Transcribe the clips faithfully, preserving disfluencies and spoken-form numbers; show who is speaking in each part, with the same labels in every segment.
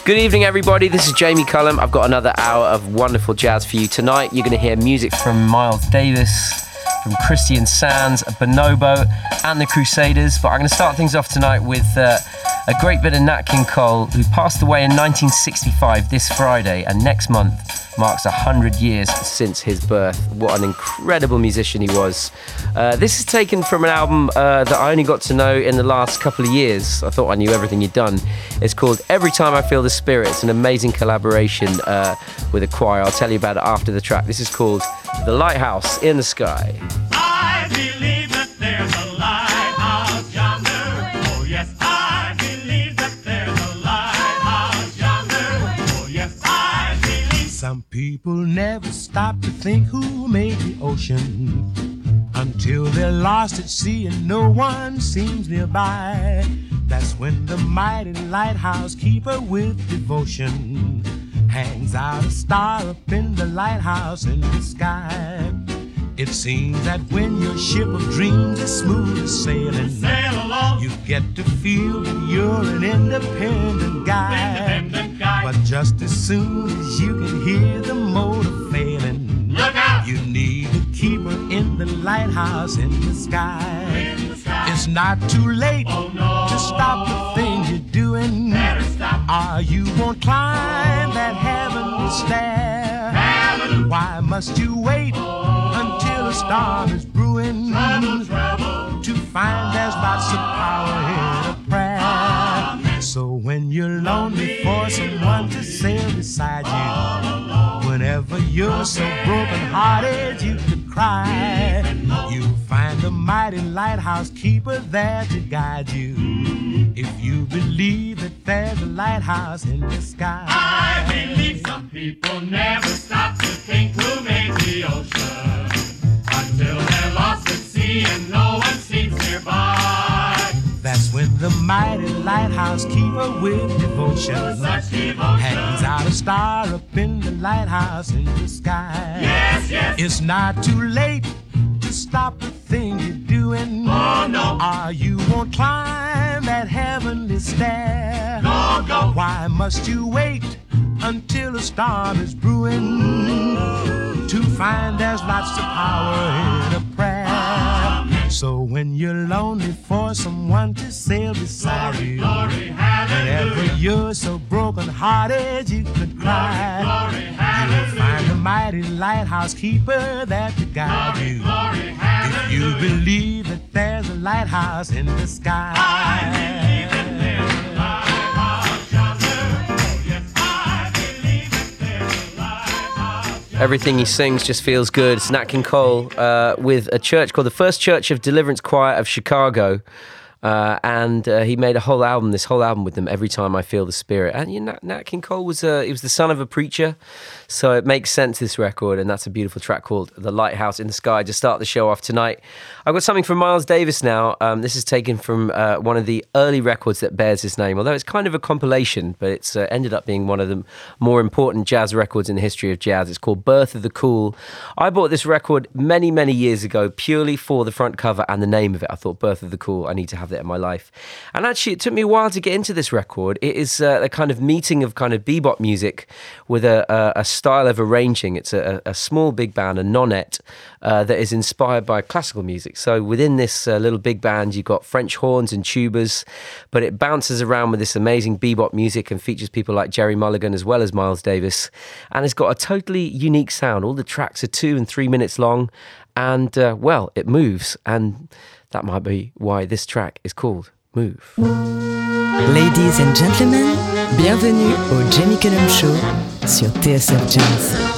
Speaker 1: Good evening, everybody. This is Jamie Cullum. I've got another hour of wonderful jazz for you tonight. You're going to hear music from Miles Davis, from Christian Sands, Bonobo, and the Crusaders. But I'm going to start things off tonight with uh, a great bit of Nat King Cole, who passed away in nineteen sixty-five this Friday, and next month marks one hundred years since his birth. What an incredible musician he was. Uh, this is taken from an album uh, that I only got to know in the last couple of years. I thought I knew everything he'd done. It's called Every Time I Feel the Spirit. It's an amazing collaboration uh, with a choir. I'll tell you about it after the track. This is called The Lighthouse in the Sky.
Speaker 2: I believe that there's a lighthouse yonder. Oh yes, I believe that there's a lighthouse yonder. Oh yes, I believe.
Speaker 3: Some people never stop to think who made the ocean until they're lost at sea and no one seems nearby. That's when the mighty lighthouse keeper with devotion hangs out a star up in the lighthouse in the sky. It seems that when your ship of dreams is smooth as sailing,
Speaker 2: Sail along.
Speaker 3: you get to feel that you're an independent guy.
Speaker 2: Independent guy.
Speaker 3: But just as soon as you can hear the motor failing,
Speaker 2: Look out.
Speaker 3: you need a keeper in the lighthouse in the sky.
Speaker 2: In the sky.
Speaker 3: It's not too late
Speaker 2: Oh, no.
Speaker 3: to stop the things you're doing.
Speaker 2: Better stop.
Speaker 3: Or you won't climb that heavenly stair.
Speaker 2: Heaven.
Speaker 3: Why must you wait until a storm is brewing
Speaker 2: Trouble, trouble.
Speaker 3: to find there's lots of power in a prayer?
Speaker 2: Amen.
Speaker 3: So when you're lonely for someone to sail beside you, whenever you're so broken hearted you could cry, you'll find the mighty lighthouse keeper there to guide you. If you believe that there's a lighthouse in the sky.
Speaker 2: I believe some people never stop to think who made the ocean until they're lost at sea and no one seems nearby.
Speaker 3: That's when the mighty lighthouse keeper with devotion
Speaker 2: Such devotion.
Speaker 3: hangs out a star up in the lighthouse in the sky.
Speaker 2: Yes, yes.
Speaker 3: It's not too late to stop the thing you're doing.
Speaker 2: Oh, no.
Speaker 3: Or you won't climb that heavenly stair.
Speaker 2: Go, go.
Speaker 3: Why must you wait until a storm is brewing to find there's lots of power in a prayer? So when you're lonely for someone to sail beside
Speaker 2: Glory,
Speaker 3: you,
Speaker 2: glory, hallelujah.
Speaker 3: whenever you're so broken hearted you could cry,
Speaker 2: Glory,
Speaker 3: you'll
Speaker 2: hallelujah.
Speaker 3: find the mighty lighthouse keeper there to guide
Speaker 2: Glory,
Speaker 3: you.
Speaker 2: glory,
Speaker 3: If
Speaker 2: hallelujah.
Speaker 3: you believe that there's a lighthouse in the sky.
Speaker 2: I believe that there's a lighthouse yonder. Oh, yes, I believe that there's a lighthouse yonder.
Speaker 1: Everything he sings just feels good. It's Nat King Cole uh, with a church called the First Church of Deliverance Choir of Chicago. Uh, and uh, he made a whole album, this whole album with them, Every Time I Feel the Spirit. And you know, Nat, Nat King Cole was uh, he was the son of a preacher, so it makes sense, this record, and that's a beautiful track called The Lighthouse in the Sky to start the show off tonight. I've got something from Miles Davis now. Um, this is taken from uh, one of the early records that bears his name, although it's kind of a compilation, but it's uh, ended up being one of the more important jazz records in the history of jazz. It's called Birth of the Cool. I bought this record many, many years ago purely for the front cover and the name of it. I thought, Birth of the Cool, I need to have that in my life. And actually, it took me a while to get into this record. It is uh, a kind of meeting of kind of bebop music with a, a, a style of arranging. It's a, a small big band, a nonette, uh, that is inspired by classical music. So within this uh, little big band, you've got French horns and tubas, but it bounces around with this amazing bebop music and features people like Jerry Mulligan as well as Miles Davis. And it's got a totally unique sound. All the tracks are two and three minutes long, and uh, well, it moves. And that might be why this track is called Move.
Speaker 4: Ladies and gentlemen, bienvenue au Jamie Cullum Show sur T S F Jazz.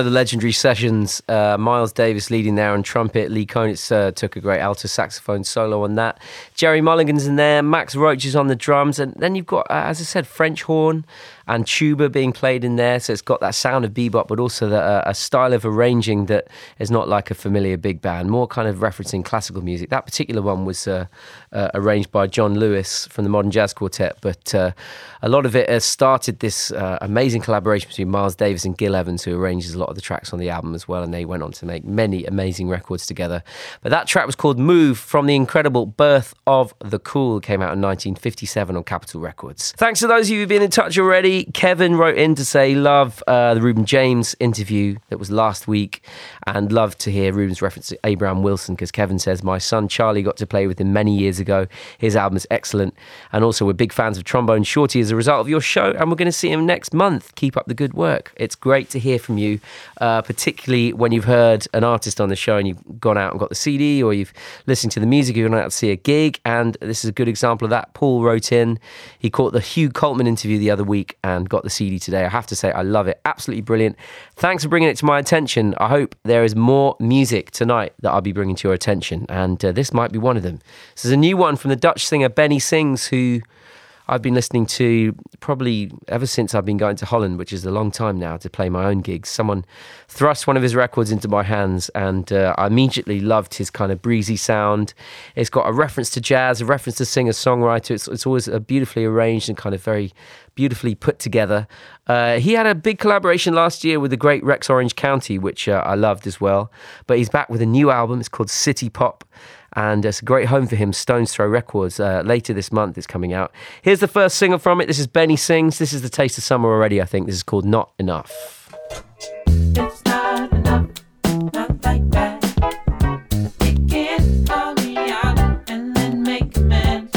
Speaker 1: of the legendary sessions. Uh, Miles Davis leading there on trumpet. Lee Konitz uh, took a great alto saxophone solo on that. Jerry Mulligan's in there. Max Roach is on the drums. And then you've got, uh, as I said, French horn and tuba being played in there. So it's got that sound of bebop, but also the, uh, a style of arranging that is not like a familiar big band, more kind of referencing classical music. That particular one was uh, uh, arranged by John Lewis from the Modern Jazz Quartet, but uh, a lot of it has started this uh, amazing collaboration between Miles Davis and Gil Evans, who arranges a lot of the tracks on the album as well, and they went on to make many amazing records together. But that track was called Move from the incredible Birth of the Cool. It came out in nineteen fifty-seven on Capitol Records. Thanks to those of you who've been in touch already. Kevin wrote in to say love uh, the Reuben James interview that was last week, and love to hear Reuben's reference to Abraham Wilson, because Kevin says, my son Charlie got to play with him many years ago. His album is excellent, and also we're big fans of Trombone Shorty as a result of your show, and we're going to see him next month. Keep up the good work. It's great to hear from you, uh, particularly when you've heard an artist on the show and you've gone out and got the C D, or you've listened to the music, you've gone out to see a gig, and this is a good example of that. Paul wrote in, he caught the Hugh Coltman interview the other week and got the C D today. I have to say, I love it. Absolutely brilliant. Thanks for bringing it to my attention. I hope there is more music tonight that I'll be bringing to your attention, and uh, this might be one of them. This is a new one from the Dutch singer Benny Sings, who I've been listening to probably ever since I've been going to Holland, which is a long time now, to play my own gigs. Someone thrust one of his records into my hands, and uh, I immediately loved his kind of breezy sound. It's got a reference to jazz, a reference to singer-songwriter. It's, it's always uh, beautifully arranged and kind of very beautifully put together. Uh, he had a big collaboration last year with the great Rex Orange County, which uh, I loved as well. But he's back with a new album. It's called City Pop, and it's a great home for him, Stones Throw Records. Uh, later this month it's coming out. Here's the first single from it. This is Benny Sings. This is the taste of summer already, I think. This is called Not Enough.
Speaker 5: It's not enough, not like that. You can't call me out and then make amends.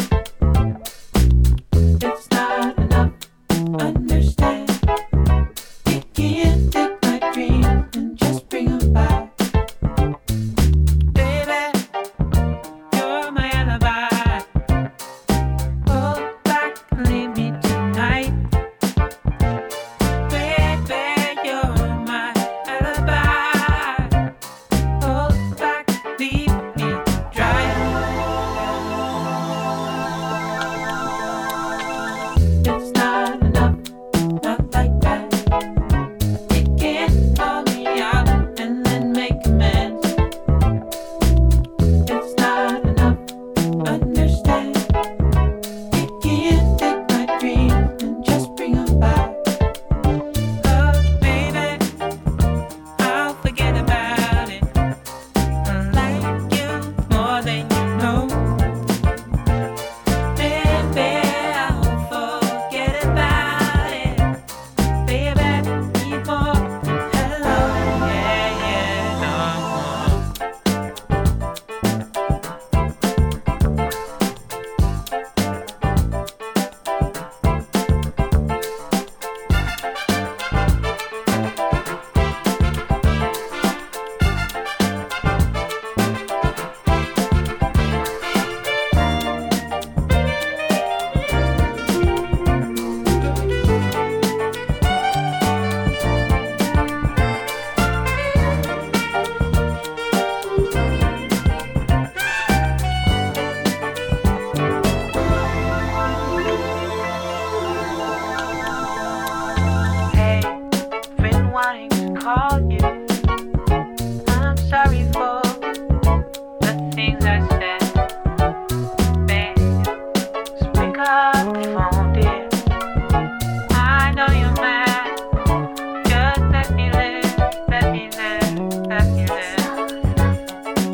Speaker 5: It's not enough, understand. You can't take my dreams and just bring them back. Baby, you're my alibi. Hold back and leave me tonight. Baby, you're my alibi. Hold back, leave me dry. It's not enough, not like that. You can't call me out and then make amends. It's not enough, understand. You can't take my dreams and just bring them back. Oh, baby, I'll forget about it. I like you more than you know. Baby, I'll forget about it. Baby, need more. Hello, yeah, yeah, no. Hey, been wanting to call you. I'm sorry for the things I said. Babe, just pick up the phone, dear. I know you're mad. Just let me live, let me live, let me live.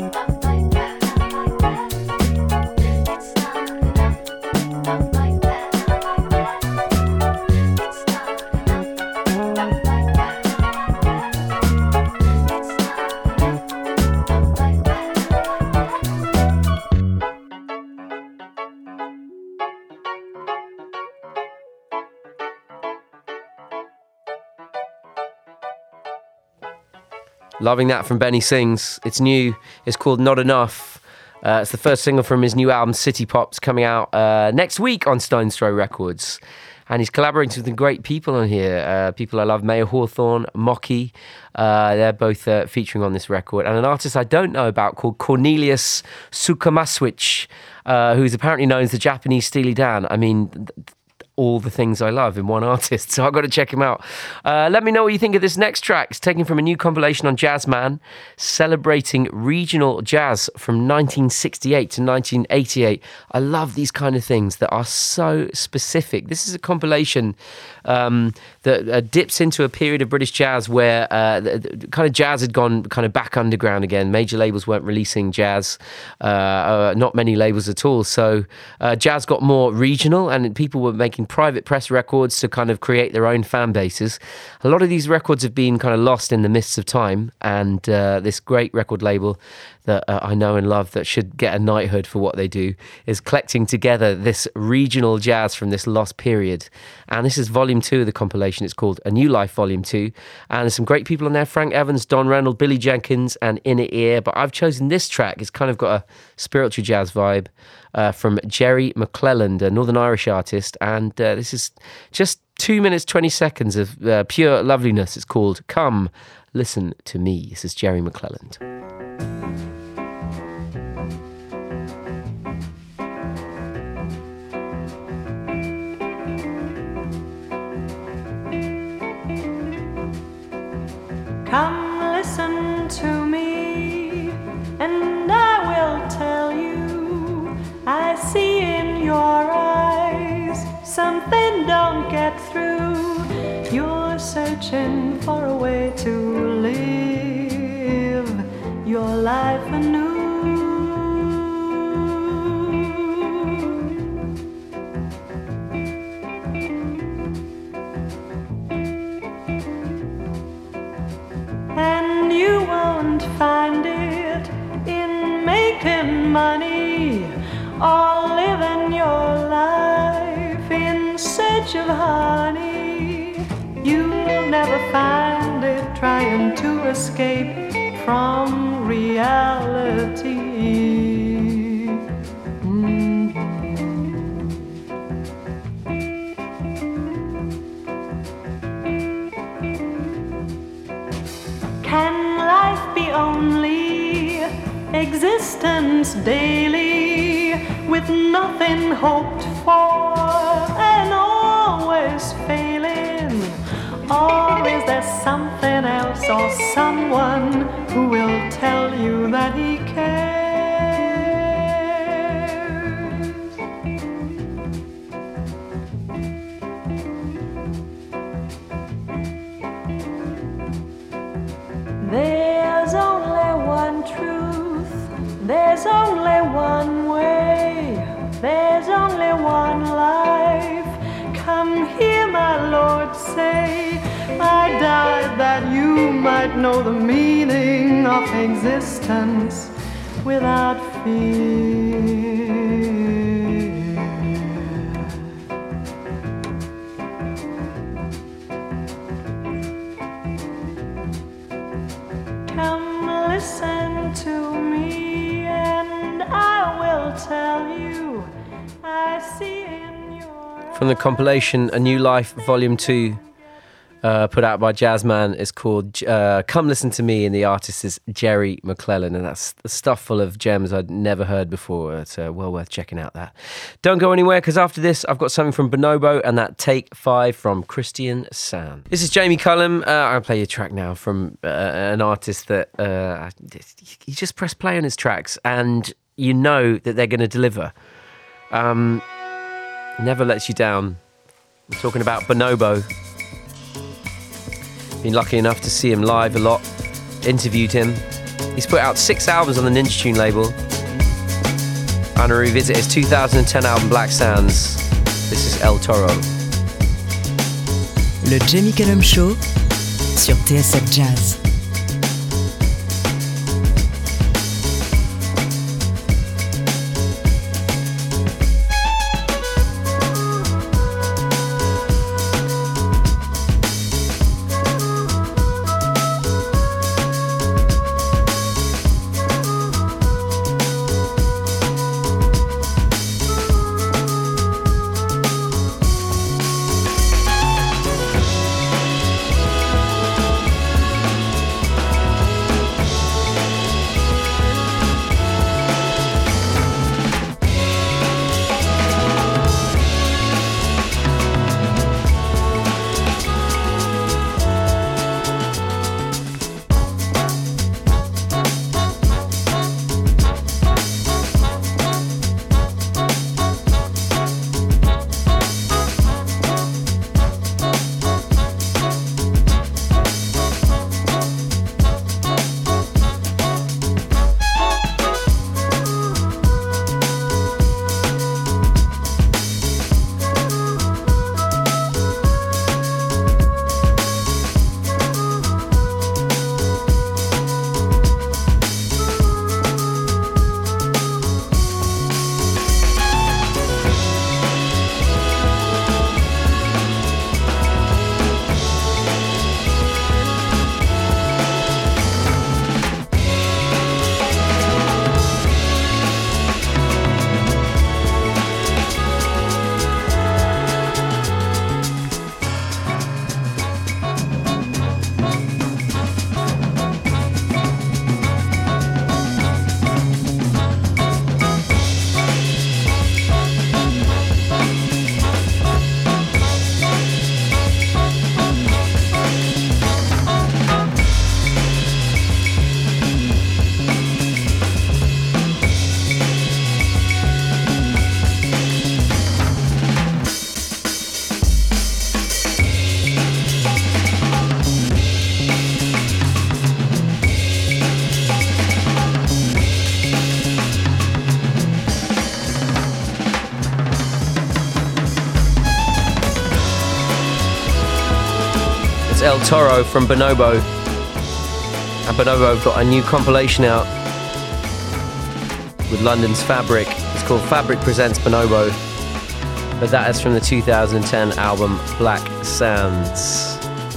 Speaker 1: Loving that from Benny Sings. It's new. It's called Not Enough. Uh, it's the first single from his new album, City Pop's coming out uh, next week on Stones Throw Records. and he's collaborating with some great people on here. Uh, people I love, Mayor Hawthorne, Mocky. Uh, they're both uh, featuring on this record. And an artist I don't know about called Cornelius Sukamaswich, uh, who's apparently known as the Japanese Steely Dan. I mean... Th- all the things I love in one artist, so I've got to check him out. Uh, let me know what you think of this next track. It's taken from a new compilation on Jazzman, celebrating regional jazz from nineteen sixty-eight to nineteen eighty-eight. I love these kind of things that are so specific. This is a compilation um, that uh, dips into a period of British jazz where uh, the, the kind of jazz had gone kind of back underground again. Major labels weren't releasing jazz, uh, uh, not many labels at all. So uh, jazz got more regional, and people were making private press records to kind of create their own fan bases. A lot of these records have been kind of lost in the mists of time, and uh, this great record label that uh, I know and love that should get a knighthood for what they do is collecting together this regional jazz from this lost period. And this is volume two of the compilation. It's called A New Life Volume two, and there's some great people on there: Frank Evans, Don Reynolds, Billy Jenkins and Inner Ear. But I've chosen this track. It's kind of got a spiritual jazz vibe uh, from Jerry McClelland, a Northern Irish artist, and uh, this is just two minutes twenty seconds of uh, pure loveliness. It's called Come Listen to Me. This is Jerry McClelland.
Speaker 6: Come listen to me, and I will tell you, I see in your eyes something don't get through. You're searching for a way to live your life anew. And you won't find it in making money or living your life in search of honey. You'll never find it trying to escape from reality. Mm-hmm. Can life be only existence daily, with nothing hoped for and always failing? Or is there something else or someone who will tell you that he cares? There's only one truth, there's only one way, there's only one life. Come hear my Lord say, I died that you might know the meaning of existence without fear. Come listen to me, and I will tell you, I see in your
Speaker 1: From the compilation A New Life Volume two, uh, put out by Jazzman, is called uh, Come Listen to Me, and the artist is Jerry McClelland, and that's the stuff full of gems I'd never heard before. It's uh, well worth checking out that. Don't go anywhere, because after this I've got something from Bonobo and that Take Five from Christian Sam. This is Jamie Cullum. Uh, I'll play you a track now from uh, an artist that uh, you just press play on his tracks and you know that they're going to deliver. Um, never lets you down. I'm talking about Bonobo. Been lucky enough to see him live a lot, interviewed him. He's put out six albums on the Ninja Tune label. I'm going to revisit his two thousand ten album Black Sands. This is El Toro.
Speaker 4: Le Jamie Cullum Show sur T S F Jazz.
Speaker 1: That's El Toro from Bonobo. And Bonobo have got a new compilation out with London's Fabric. It's called Fabric Presents Bonobo. But that is from the two thousand ten album Black Sands.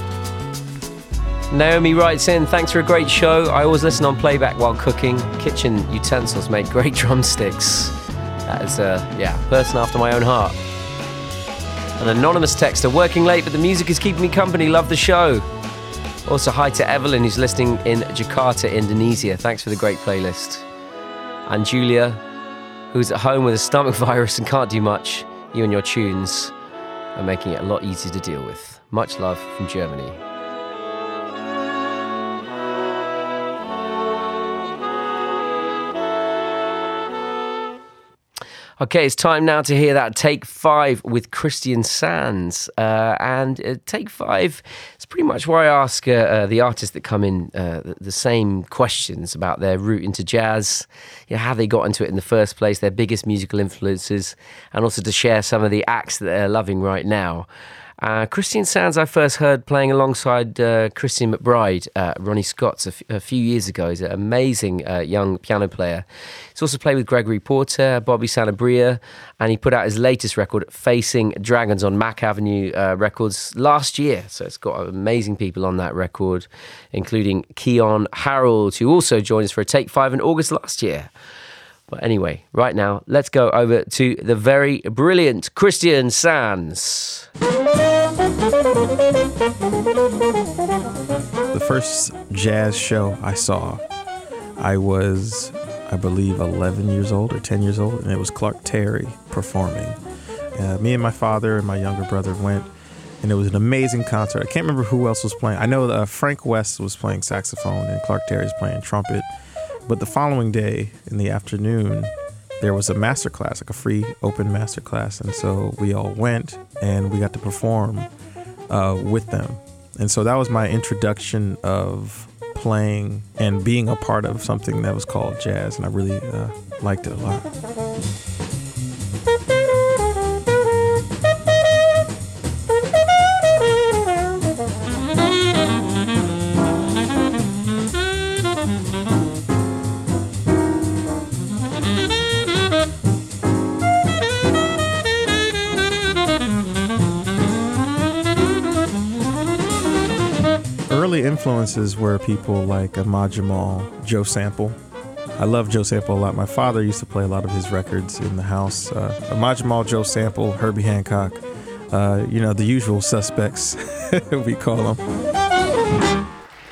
Speaker 1: Naomi writes in, thanks for a great show. I always listen on playback while cooking. Kitchen utensils make great drumsticks. That is a yeah, person after my own heart. An anonymous texter, working late, but the music is keeping me company. Love the show. Also, hi to Evelyn, who's listening in Jakarta, Indonesia. Thanks for the great playlist. And Julia, who's at home with a stomach virus and can't do much. You and your tunes are making it a lot easier to deal with. Much love from Germany. Okay, it's time now to hear that Take Five with Christian Sands. Uh, and uh, Take Five is pretty much where I ask uh, uh, the artists that come in uh, the, the same questions about their route into jazz, you know, how they got into it in the first place, their biggest musical influences, and also to share some of the acts that they're loving right now. Uh, Christian Sands I first heard playing alongside uh, Christian McBride, uh, Ronnie Scott's a, f- a few years ago. He's an amazing uh, young piano player. He's also played with Gregory Porter, Bobby Sanabria, and he put out his latest record, Facing Dragons, on Mac Avenue uh, Records last year. So it's got amazing people on that record, including Keon Harold, who also joined us for a Take Five in August last year. But anyway, right now, let's go over to the very brilliant Christian Sands.
Speaker 7: The first jazz show I saw, I was, I believe, eleven years old or ten years old, and it was Clark Terry performing. Uh, me and my father and my younger brother went, and it was an amazing concert. I can't remember who else was playing. I know uh, Frank West was playing saxophone, and Clark Terry was playing trumpet. But the following day, in the afternoon, there was a master class, like a free open master class. And so we all went and we got to perform uh, with them. And so that was my introduction of playing and being a part of something that was called jazz. And I really uh, liked it a lot. Early influences were people like Ahmad Jamal, Joe Sample. I love Joe Sample a lot. My father used to play a lot of his records in the house. Uh, Ahmad Jamal, Joe Sample, Herbie Hancock, uh, you know, the usual suspects, we call them.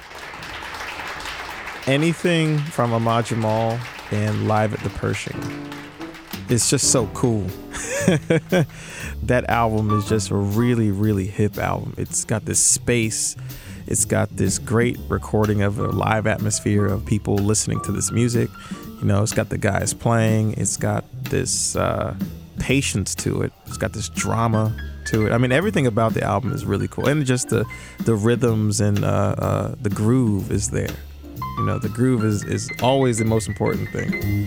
Speaker 7: Anything from Ahmad Jamal and Live at the Pershing, it's just so cool. That album is just a really, really hip album. It's got this space. It's got this great recording of a live atmosphere of people listening to this music. You know, it's got the guys playing. It's got this uh, patience to it. It's got this drama to it. I mean, everything about the album is really cool. And just the, the rhythms and uh, uh, the groove is there. You know, the groove is, is always the most important thing.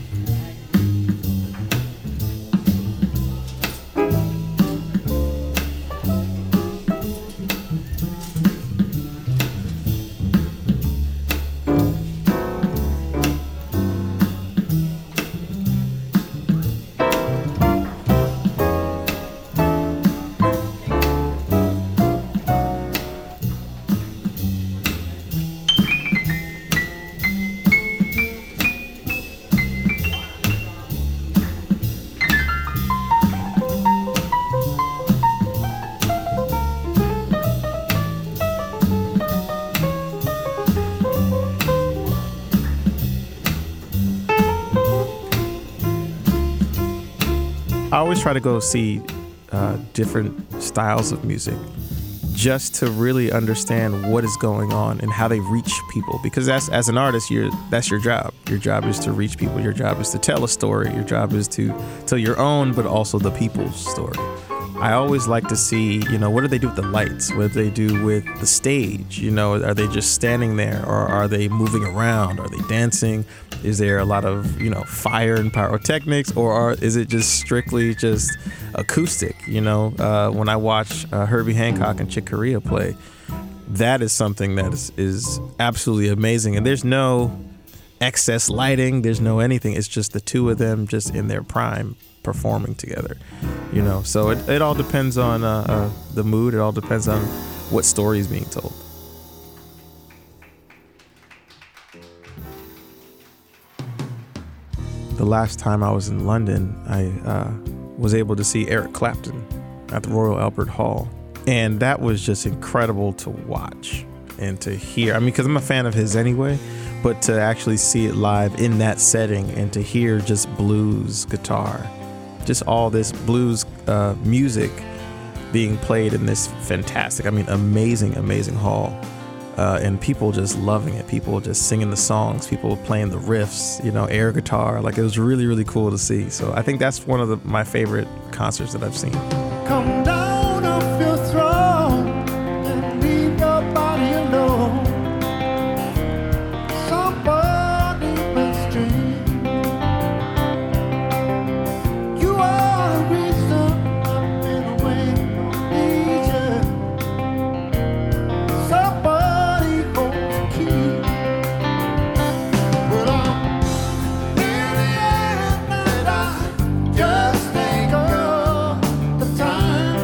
Speaker 7: I always try to go see uh, different styles of music just to really understand what is going on and how they reach people. Because as, as an artist, you're, that's your job. Your job is to reach people. Your job is to tell a story. Your job is to tell your own, but also the people's story. I always like to see, you know, what do they do with the lights? What do they do with the stage? You know, are they just standing there, or are they moving around? Are they dancing? Is there a lot of, you know, fire and pyrotechnics, or are, is it just strictly just acoustic? You know, uh, when I watch uh, Herbie Hancock and Chick Corea play, that is something that is, is absolutely amazing. And there's no excess lighting, there's no anything. It's just the two of them just in their prime performing together, you know. So it, it all depends on uh, uh, the mood. It all depends on what story is being told. The last time I was in London, I uh, was able to see Eric Clapton at the Royal Albert Hall. And that was just incredible to watch and to hear. I mean, because I'm a fan of his anyway, but to actually see it live in that setting and to hear just blues guitar, just all this blues uh, music being played in this fantastic, I mean, amazing, amazing hall. Uh, and people just loving it. People just singing the songs, people playing the riffs, you know, air guitar. Like, it was really, really cool to see. So I think that's one of the, my favorite concerts that I've seen.
Speaker 8: Come down off your throne and leave your body alone. Somebody must dream. You are the reason I've been away from Asia. Somebody holds the key. But I'm in the end and I just think of the time.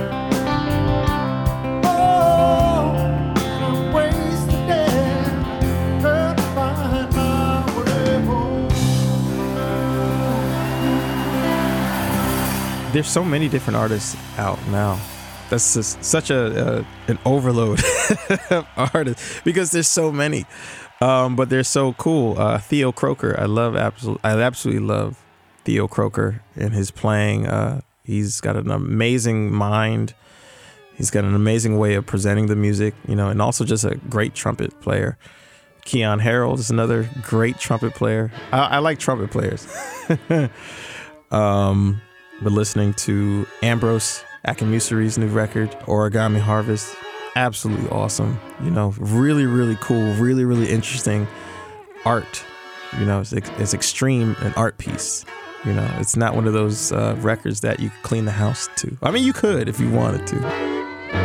Speaker 8: Oh, and I'm wasted there, trying to find my way home.
Speaker 7: There's so many different artists out now. That's just such a uh, an overload of artists because there's so many, um, but they're so cool. Uh, Theo Croker, I love absolutely, I absolutely love Theo Croker and his playing. Uh, he's got an amazing mind. He's got an amazing way of presenting the music, you know, and also just a great trumpet player. Keon Harold is another great trumpet player. I, I like trumpet players. um, but listening to Ambrose Akamuseri's new record, Origami Harvest, absolutely awesome. You know, really, really cool, really, really interesting art. You know, it's, it's extreme, an art piece. You know, it's not one of those uh, records that you could clean the house to. I mean, you could if you wanted to.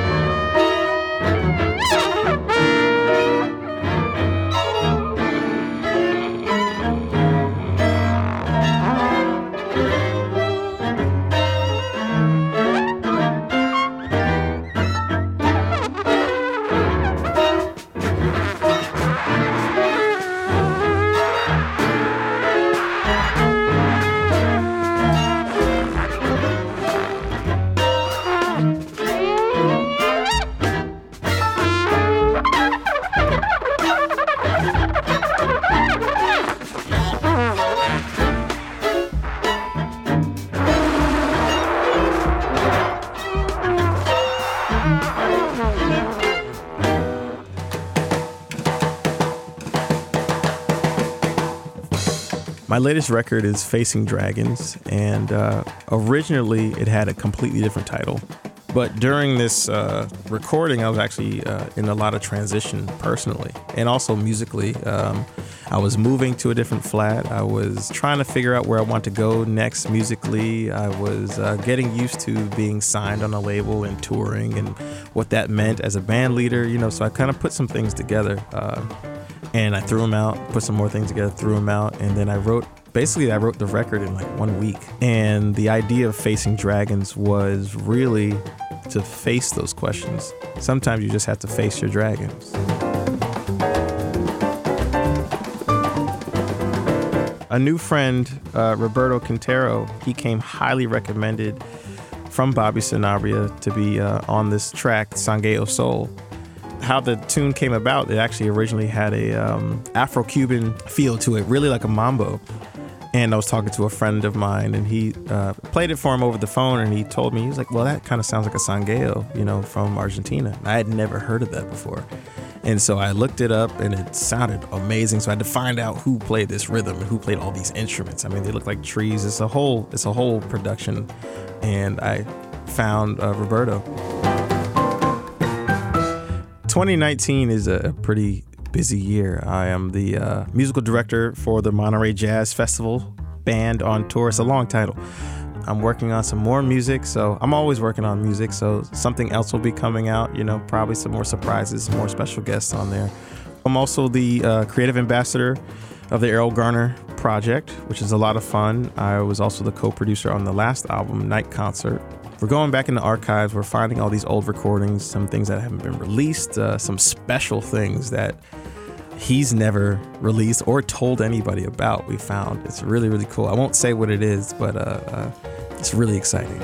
Speaker 7: My latest record is Facing Dragons, and uh, originally it had a completely different title. But during this uh, recording, I was actually uh, in a lot of transition personally and also musically. Um, I was moving to a different flat. I was trying to figure out where I want to go next musically. I was uh, getting used to being signed on a label and touring and what that meant as a band leader, you know, so I kind of put some things together. Uh, And I threw them out, put some more things together, threw them out, and then I wrote, basically I wrote the record in like one week. And the idea of Facing Dragons was really to face those questions. Sometimes you just have to face your dragons. A new friend, uh, Roberto Quintero, he came highly recommended from Bobby Sanabria to be uh, on this track, Sangue Soul. How the tune came about, it actually originally had a um, Afro-Cuban feel to it, really like a mambo. And I was talking to a friend of mine, and he uh, played it for him over the phone, and he told me, he was like, well, that kind of sounds like a sangueo, you know, from Argentina. I had never heard of that before. And so I looked it up, and it sounded amazing. So I had to find out who played this rhythm and who played all these instruments. I mean, they look like trees. It's a whole, it's a whole production. And I found uh, Roberto. twenty nineteen is a pretty busy year. I am the uh, musical director for the Monterey Jazz Festival Band on Tour. It's a long title. I'm working on some more music, so I'm always working on music, so something else will be coming out, you know, probably some more surprises, some more special guests on there. I'm also the uh, creative ambassador of the Errol Garner Project, which is a lot of fun. I was also the co-producer on the last album, Night Concert. We're going back in the archives. We're finding all these old recordings, some things that haven't been released, uh, some special things that he's never released or told anybody about. We found it's really, really cool. I won't say what it is, but uh, uh, it's really exciting.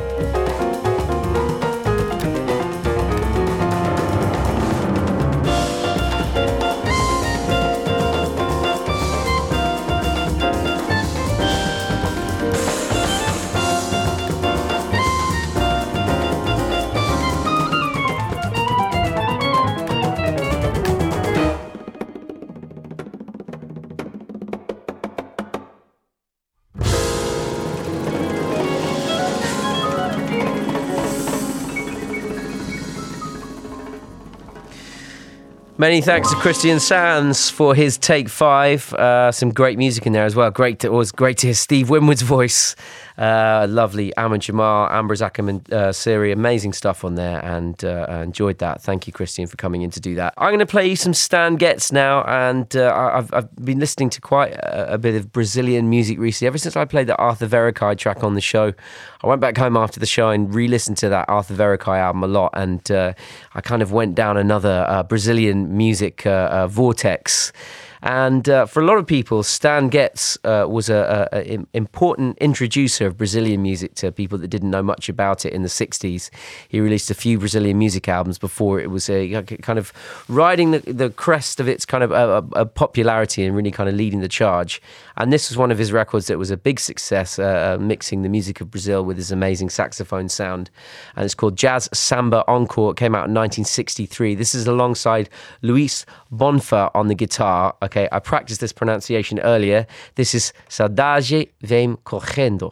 Speaker 1: Many thanks to Christian Sands for his Take Five. Uh, some great music in there as well. Great, to, it was great to hear Steve Winwood's voice. Uh, lovely Ahmed Jamal, Amber Zakhem and uh, Siri. Amazing stuff on there, and uh, I enjoyed that. Thank you, Christian, for coming in to do that. I'm going to play you some Stan Getz now, and uh, I've, I've been listening to quite a, a bit of Brazilian music recently. Ever since I played that Arthur Verocai track on the show, I went back home after the show and re-listened to that Arthur Verocai album a lot, and uh, I kind of went down another uh, Brazilian music uh, uh, vortex. And uh, for a lot of people, Stan Getz uh, was a, a, a important introducer of Brazilian music to people that didn't know much about it in the sixties. He released a few Brazilian music albums before it was a, kind of riding the, the crest of its kind of a, a popularity and really kind of leading the charge. And this was one of his records that was a big success, uh, uh, mixing the music of Brazil with his amazing saxophone sound. And it's called Jazz Samba Encore. It came out in nineteen sixty-three. This is alongside Luis Bonfa on the guitar. Okay, I practiced this pronunciation earlier. This is Saudade Vem Correndo.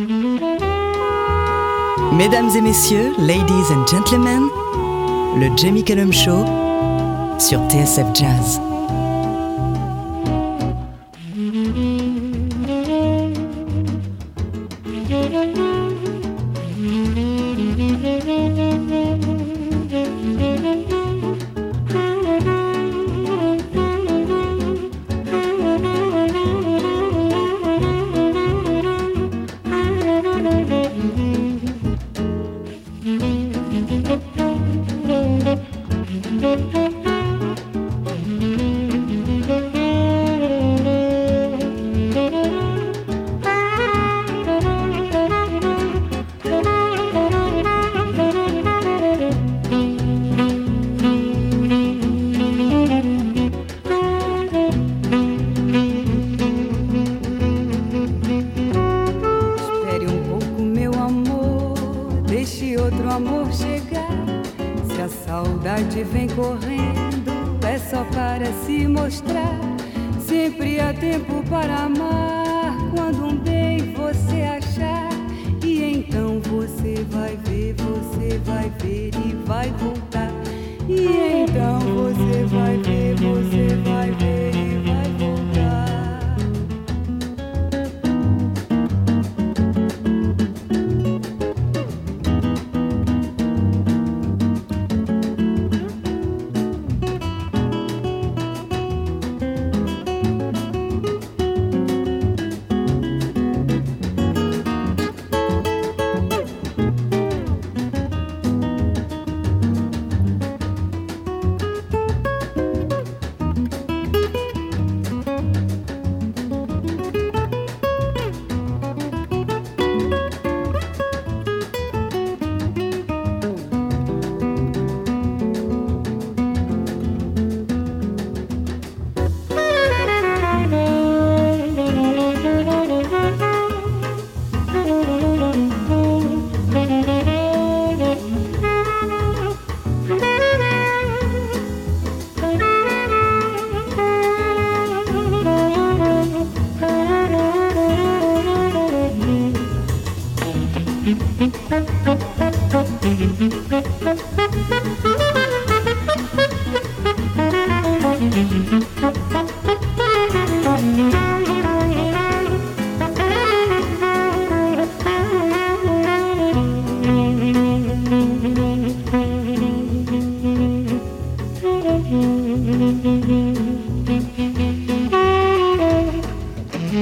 Speaker 4: Mesdames et messieurs, ladies and gentlemen, le Jamie Cullum Show sur T S F Jazz.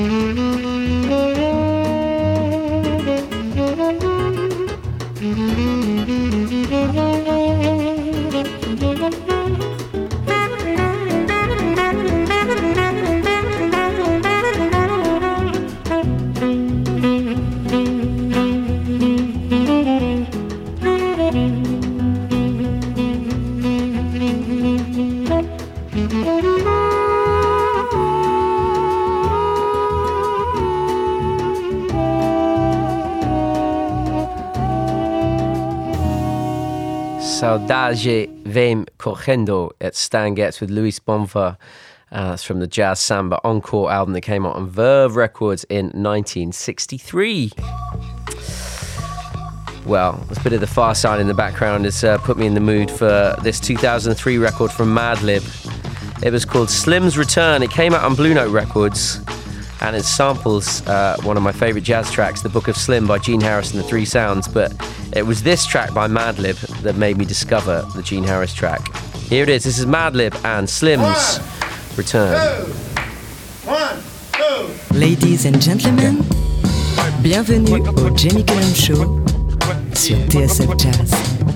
Speaker 1: Saudade Vem Correndo at Stan Getz with Luis Bonfa. Uh, that's from the Jazz Samba Encore album that came out on Verve Records in nineteen sixty-three. Well, a bit of the Far Side in the background has uh, put me in the mood for this two thousand three record from Madlib. It was called Slim's Return. It came out on Blue Note Records, and it samples uh, one of my favourite jazz tracks, The Book of Slim by Gene Harris and the Three Sounds, but it was this track by Madlib that made me discover the Gene Harris track. Here it is. This is Madlib and Slim's
Speaker 8: One,
Speaker 1: Return.
Speaker 8: two. One, two.
Speaker 4: Ladies and gentlemen, bienvenue au Jamie Cullum Show sur T S F Jazz.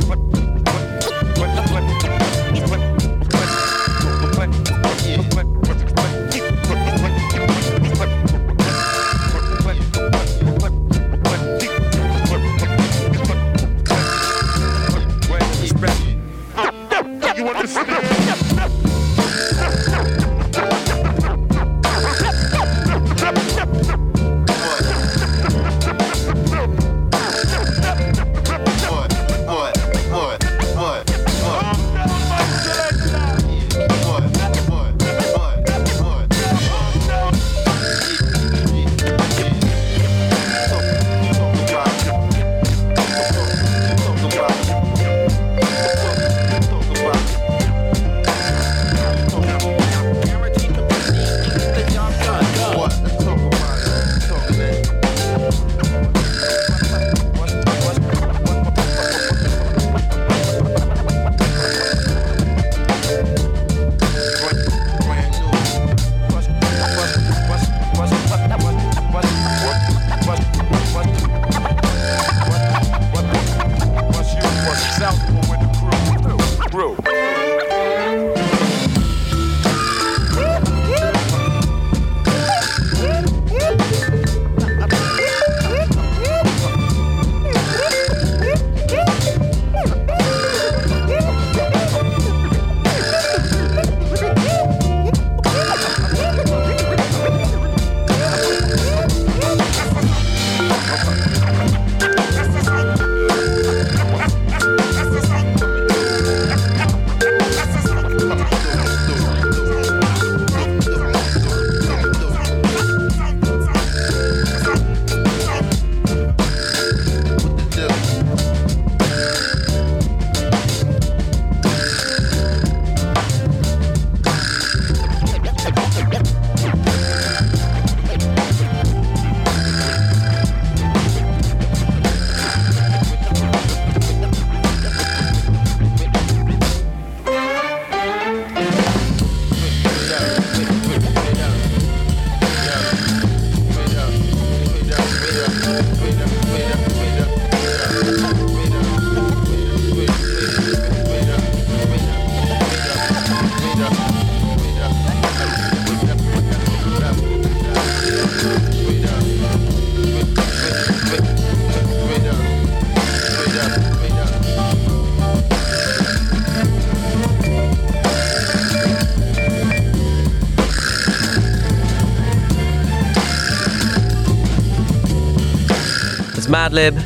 Speaker 1: Madlib,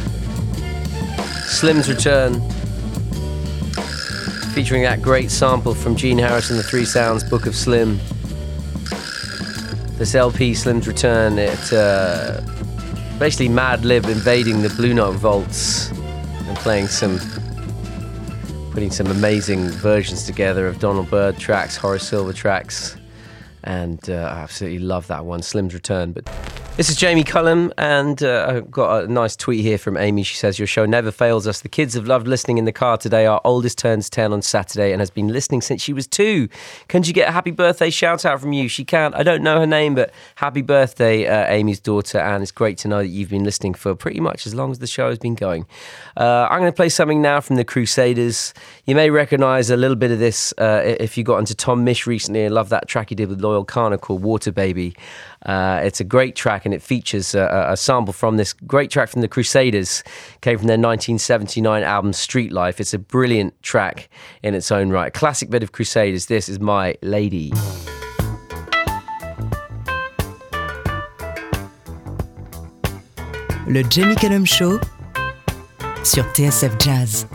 Speaker 1: Slim's Return, featuring that great sample from Gene Harris and the Three Sounds, Book of Slim. This L P, Slim's Return, it uh, basically Madlib invading the Blue Note vaults and playing some, putting some amazing versions together of Donald Byrd tracks, Horace Silver tracks, and uh, I absolutely love that one, Slim's Return. But This is Jamie Cullum, and uh, I've got a nice tweet here from Amy. She says, your show never fails us. The kids have loved listening in the car today. Our oldest turns ten on Saturday and has been listening since she was two. Can you get a happy birthday shout out from you? She can't. I don't know her name, but happy birthday, uh, Amy's daughter. And it's great to know that you've been listening for pretty much as long as the show has been going. Uh, I'm going to play something now from the Crusaders. You may recognise a little bit of this uh, if you got into Tom Misch recently and love that track he did with Loyal Kana called Water Baby. Uh, it's a great track, and it features a, a sample from this great track from the Crusaders. Came from their nineteen seventy-nine album Street Life. It's a brilliant track in its own right. Classic bit of Crusaders. This is My Lady.
Speaker 4: Le Jamie Cullum Show sur T S F Jazz.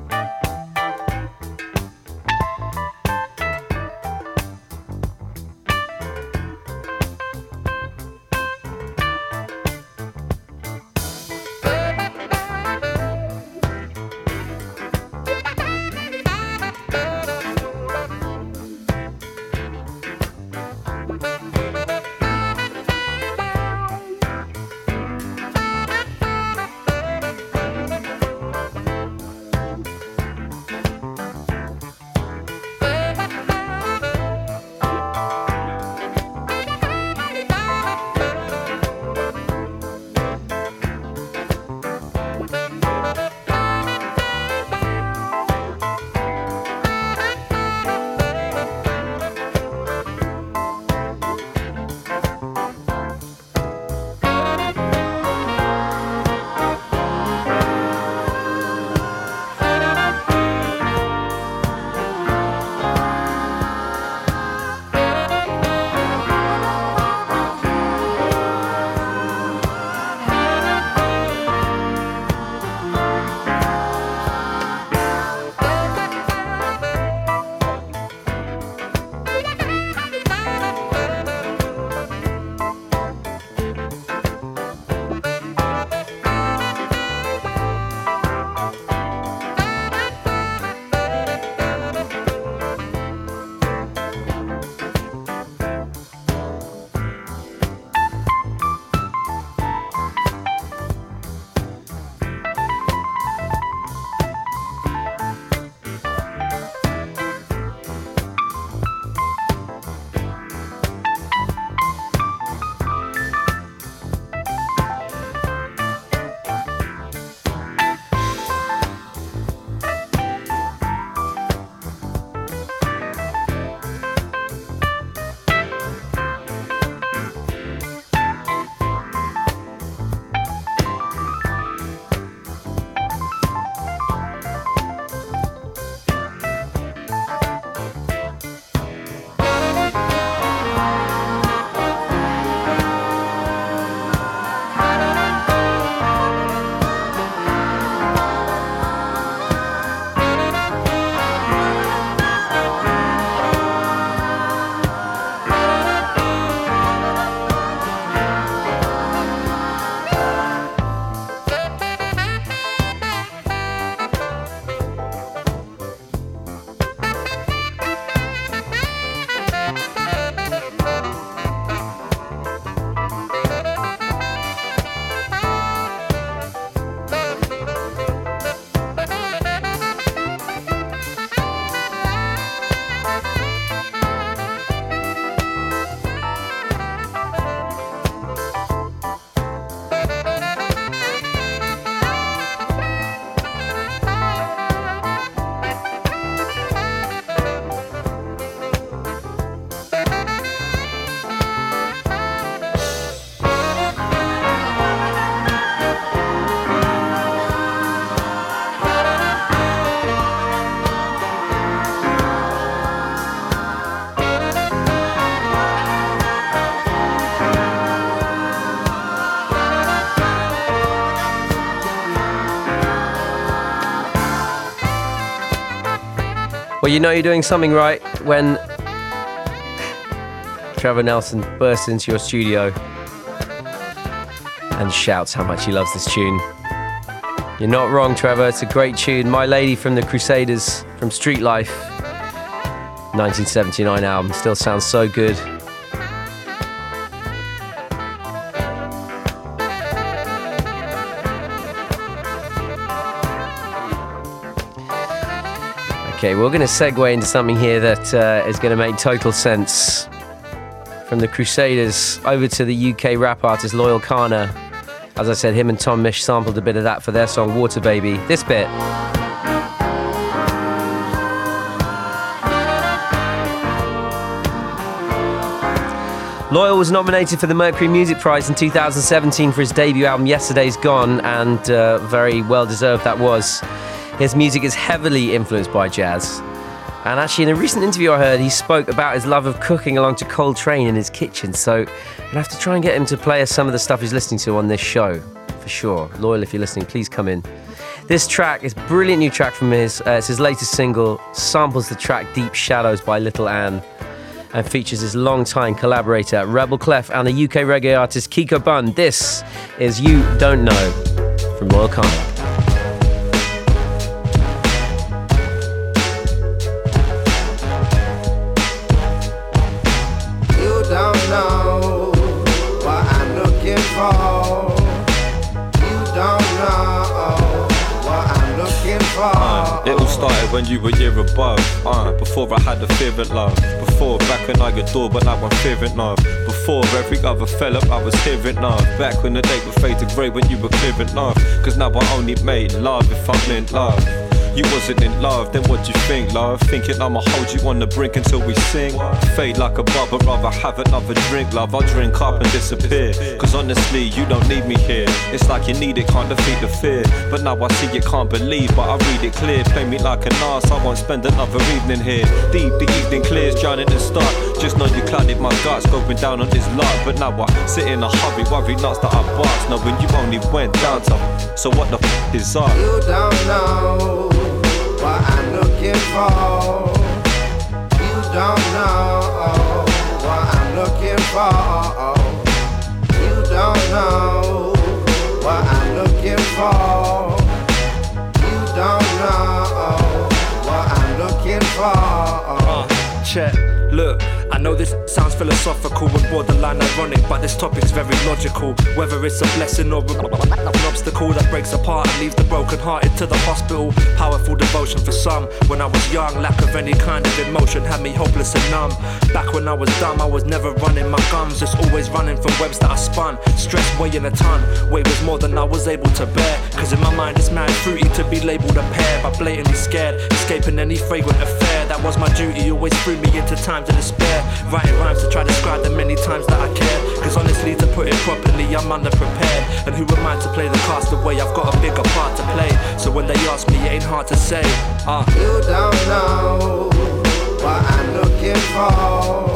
Speaker 1: Well, you know you're doing something right when Trevor Nelson bursts into your studio and shouts how much he loves this tune. You're not wrong, Trevor. It's a great tune. My Lady from the Crusaders, from Street Life, nineteen seventy-nine album. Still sounds so good. Okay, we're going to segue into something here that uh, is going to make total sense. From the Crusaders over to the U K rap artist Loyal Kana. As I said, him and Tom Misch sampled a bit of that for their song Water Baby. This bit. Loyal was nominated for the Mercury Music Prize in two thousand seventeen for his debut album Yesterday's Gone, and uh, very well deserved that was. His music is heavily influenced by jazz. And actually, in a recent interview I heard, he spoke about his love of cooking along to Coltrane in his kitchen. So I'll have to try and get him to play us some of the stuff he's listening to on this show, for sure. Loyal, if you're listening, please come in. This track is a brilliant new track from his, uh, it's his latest single, samples the track Deep Shadows by Little Ann, and features his longtime collaborator, Rebel Clef, and the U K reggae artist Kiko Bun. This is You Don't Know from Loyal Kana.
Speaker 9: Uh, it all started when you were a year above. Uh, before I had a fearing love. Before, back when I adored, but now I'm fearing love. Before every other fell up, I was hearing love. Back when the day would fade to grey when you were clearing love. Cause now I only made love if I'm in love. You wasn't in love, then what'd you think, love? Thinking I'ma hold you on the brink until we sing. Fade like a bubble, rather have another drink, love. I'll drink up and disappear. Cause honestly, you don't need me here. It's like you need it, can't defeat the fear. But now I see you can't believe, but I read it clear. Play me like an arse, I won't spend another evening here. Deep, the evening clears, drowning in start. Just know you clouded my guts, going down on this lot. But now I sit in a hurry, worry nuts that I bust. Knowing you only went down to. So what the f is up?
Speaker 10: You don't know what I'm looking for. You don't know what I'm looking for. You don't know what I'm looking for. You don't know what I'm looking for.
Speaker 11: Uh, check, look. I know this sounds philosophical and borderline ironic, but this topic's very logical. Whether it's a blessing or an obstacle that breaks apart and leaves the broken hearted to the hospital. Powerful devotion for some. When I was young, lack of any kind of emotion had me hopeless and numb. Back when I was dumb, I was never running my gums, just always running from webs that I spun. Stress weighing a ton, weight was more than I was able to bear. Cause in my mind it's mad fruity to be labelled a pair, but blatantly scared, escaping any fragrant affair. That was my duty, always threw me into times of despair. Writing rhymes to try to describe the many times that I cared. Cause honestly, to put it properly, I'm underprepared. And who am I to play the cast away? I've got a bigger part to play. So when they ask me, it ain't hard to say. Uh.
Speaker 10: You don't know what I'm looking for.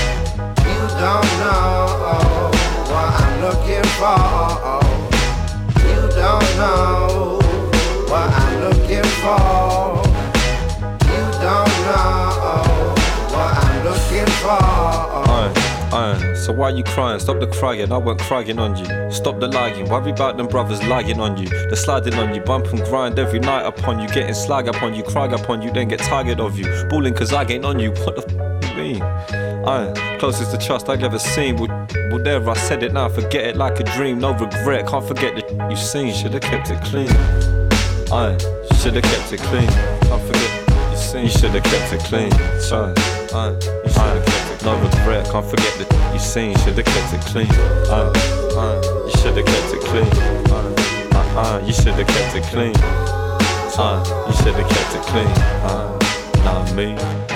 Speaker 10: You don't know what I'm looking for. You don't know what I'm looking for. You don't know what I'm looking for.
Speaker 9: Uh, uh, so why you crying? Stop the crying, I weren't crying on you. Stop the lying, worry about them brothers lying on you. They're sliding on you, bump and grind every night upon you. Getting slag upon you, cry upon you, then get tired of you. Balling cause I ain't on you, what the f*** you mean? Uh, closest to trust I've ever seen. Well, well there I said it now, forget it like a dream. No regret, can't forget the sh- you seen. Should've kept it clean. Uh, should've kept it clean. Can't forget you seen. You should've kept it clean. Uh, Uh, you should've kept it, no regret, can't forget that you seen, should've kept it clean. Uh, uh, you should've kept it clean. Uh, uh, uh, you should've kept it clean. Uh, you should've kept it clean. Uh, not me.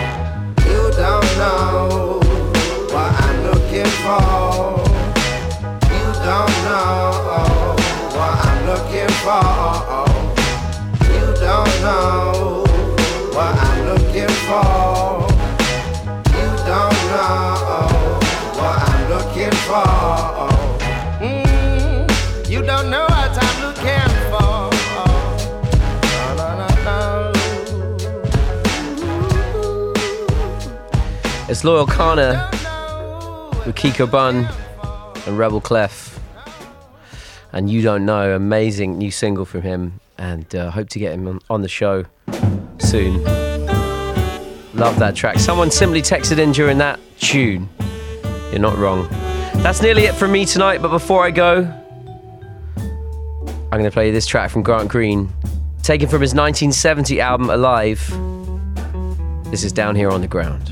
Speaker 10: You don't know what I'm looking for. You don't know what I'm looking for. You don't know what I'm looking for. Don't know what I'm looking for. Mm, you don't know what I'm looking for. No, no,
Speaker 1: no. It's Loyal Kana with Kiko Bun and Rebel Clef. And You Don't Know, amazing new single from him. And uh, hope to get him on, on the show soon. Love that track. Someone simply texted in during that tune. You're not wrong. That's nearly it from me tonight, but before I go, I'm going to play you this track from Grant Green, taken from his nineteen seventy album Alive. This is Down Here on the Ground.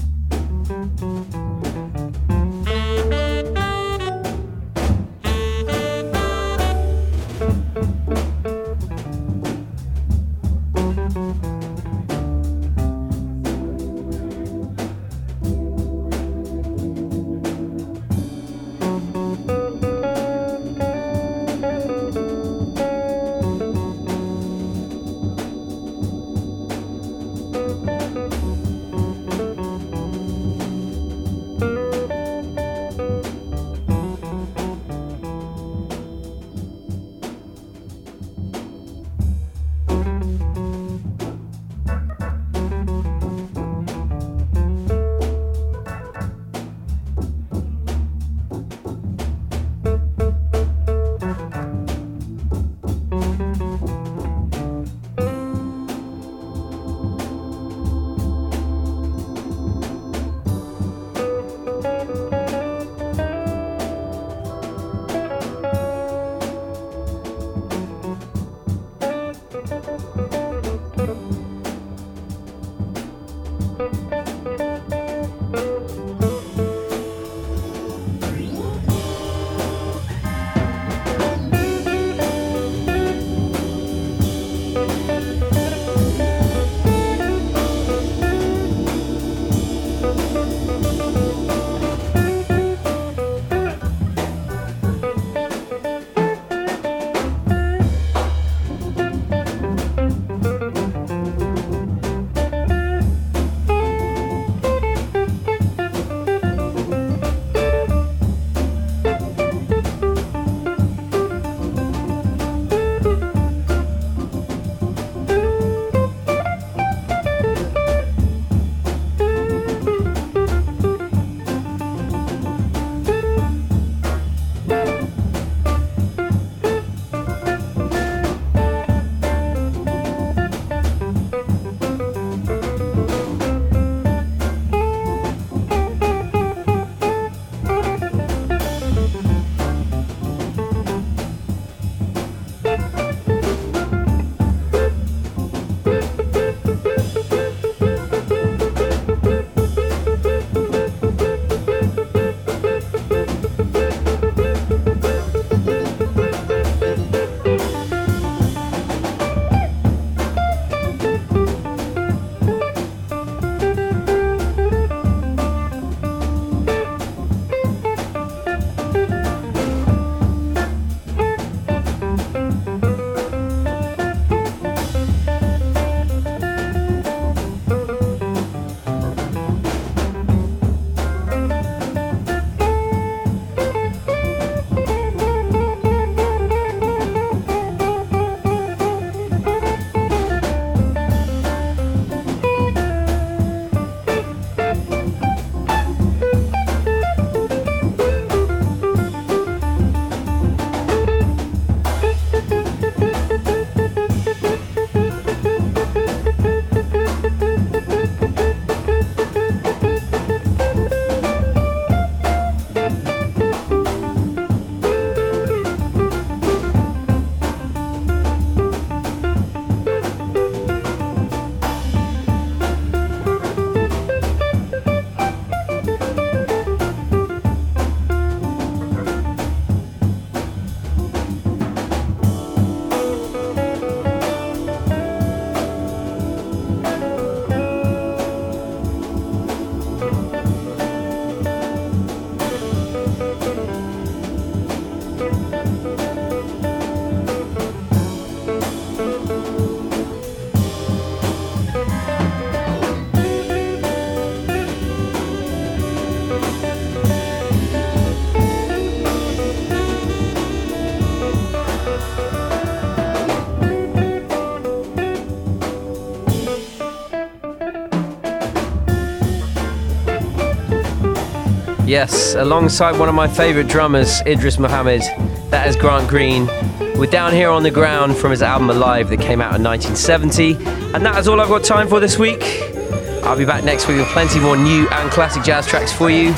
Speaker 1: Yes, alongside one of my favourite drummers, Idris Muhammad. That is Grant Green. We're Down Here on the Ground from his album Alive that came out in nineteen seventy. And that is all I've got time for this week. I'll be back next week with plenty more new and classic jazz tracks for you.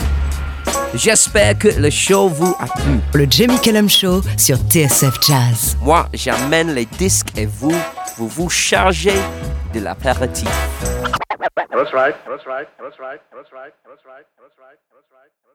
Speaker 1: J'espère que le show vous a plu.
Speaker 4: Le Jamie Cullum Show sur T S F Jazz.
Speaker 1: Moi, j'amène les disques et vous, vous vous chargez de l'apéritif.
Speaker 12: That's right. That's right. That's right. That's right. That's right. That's right. That's right. That's right.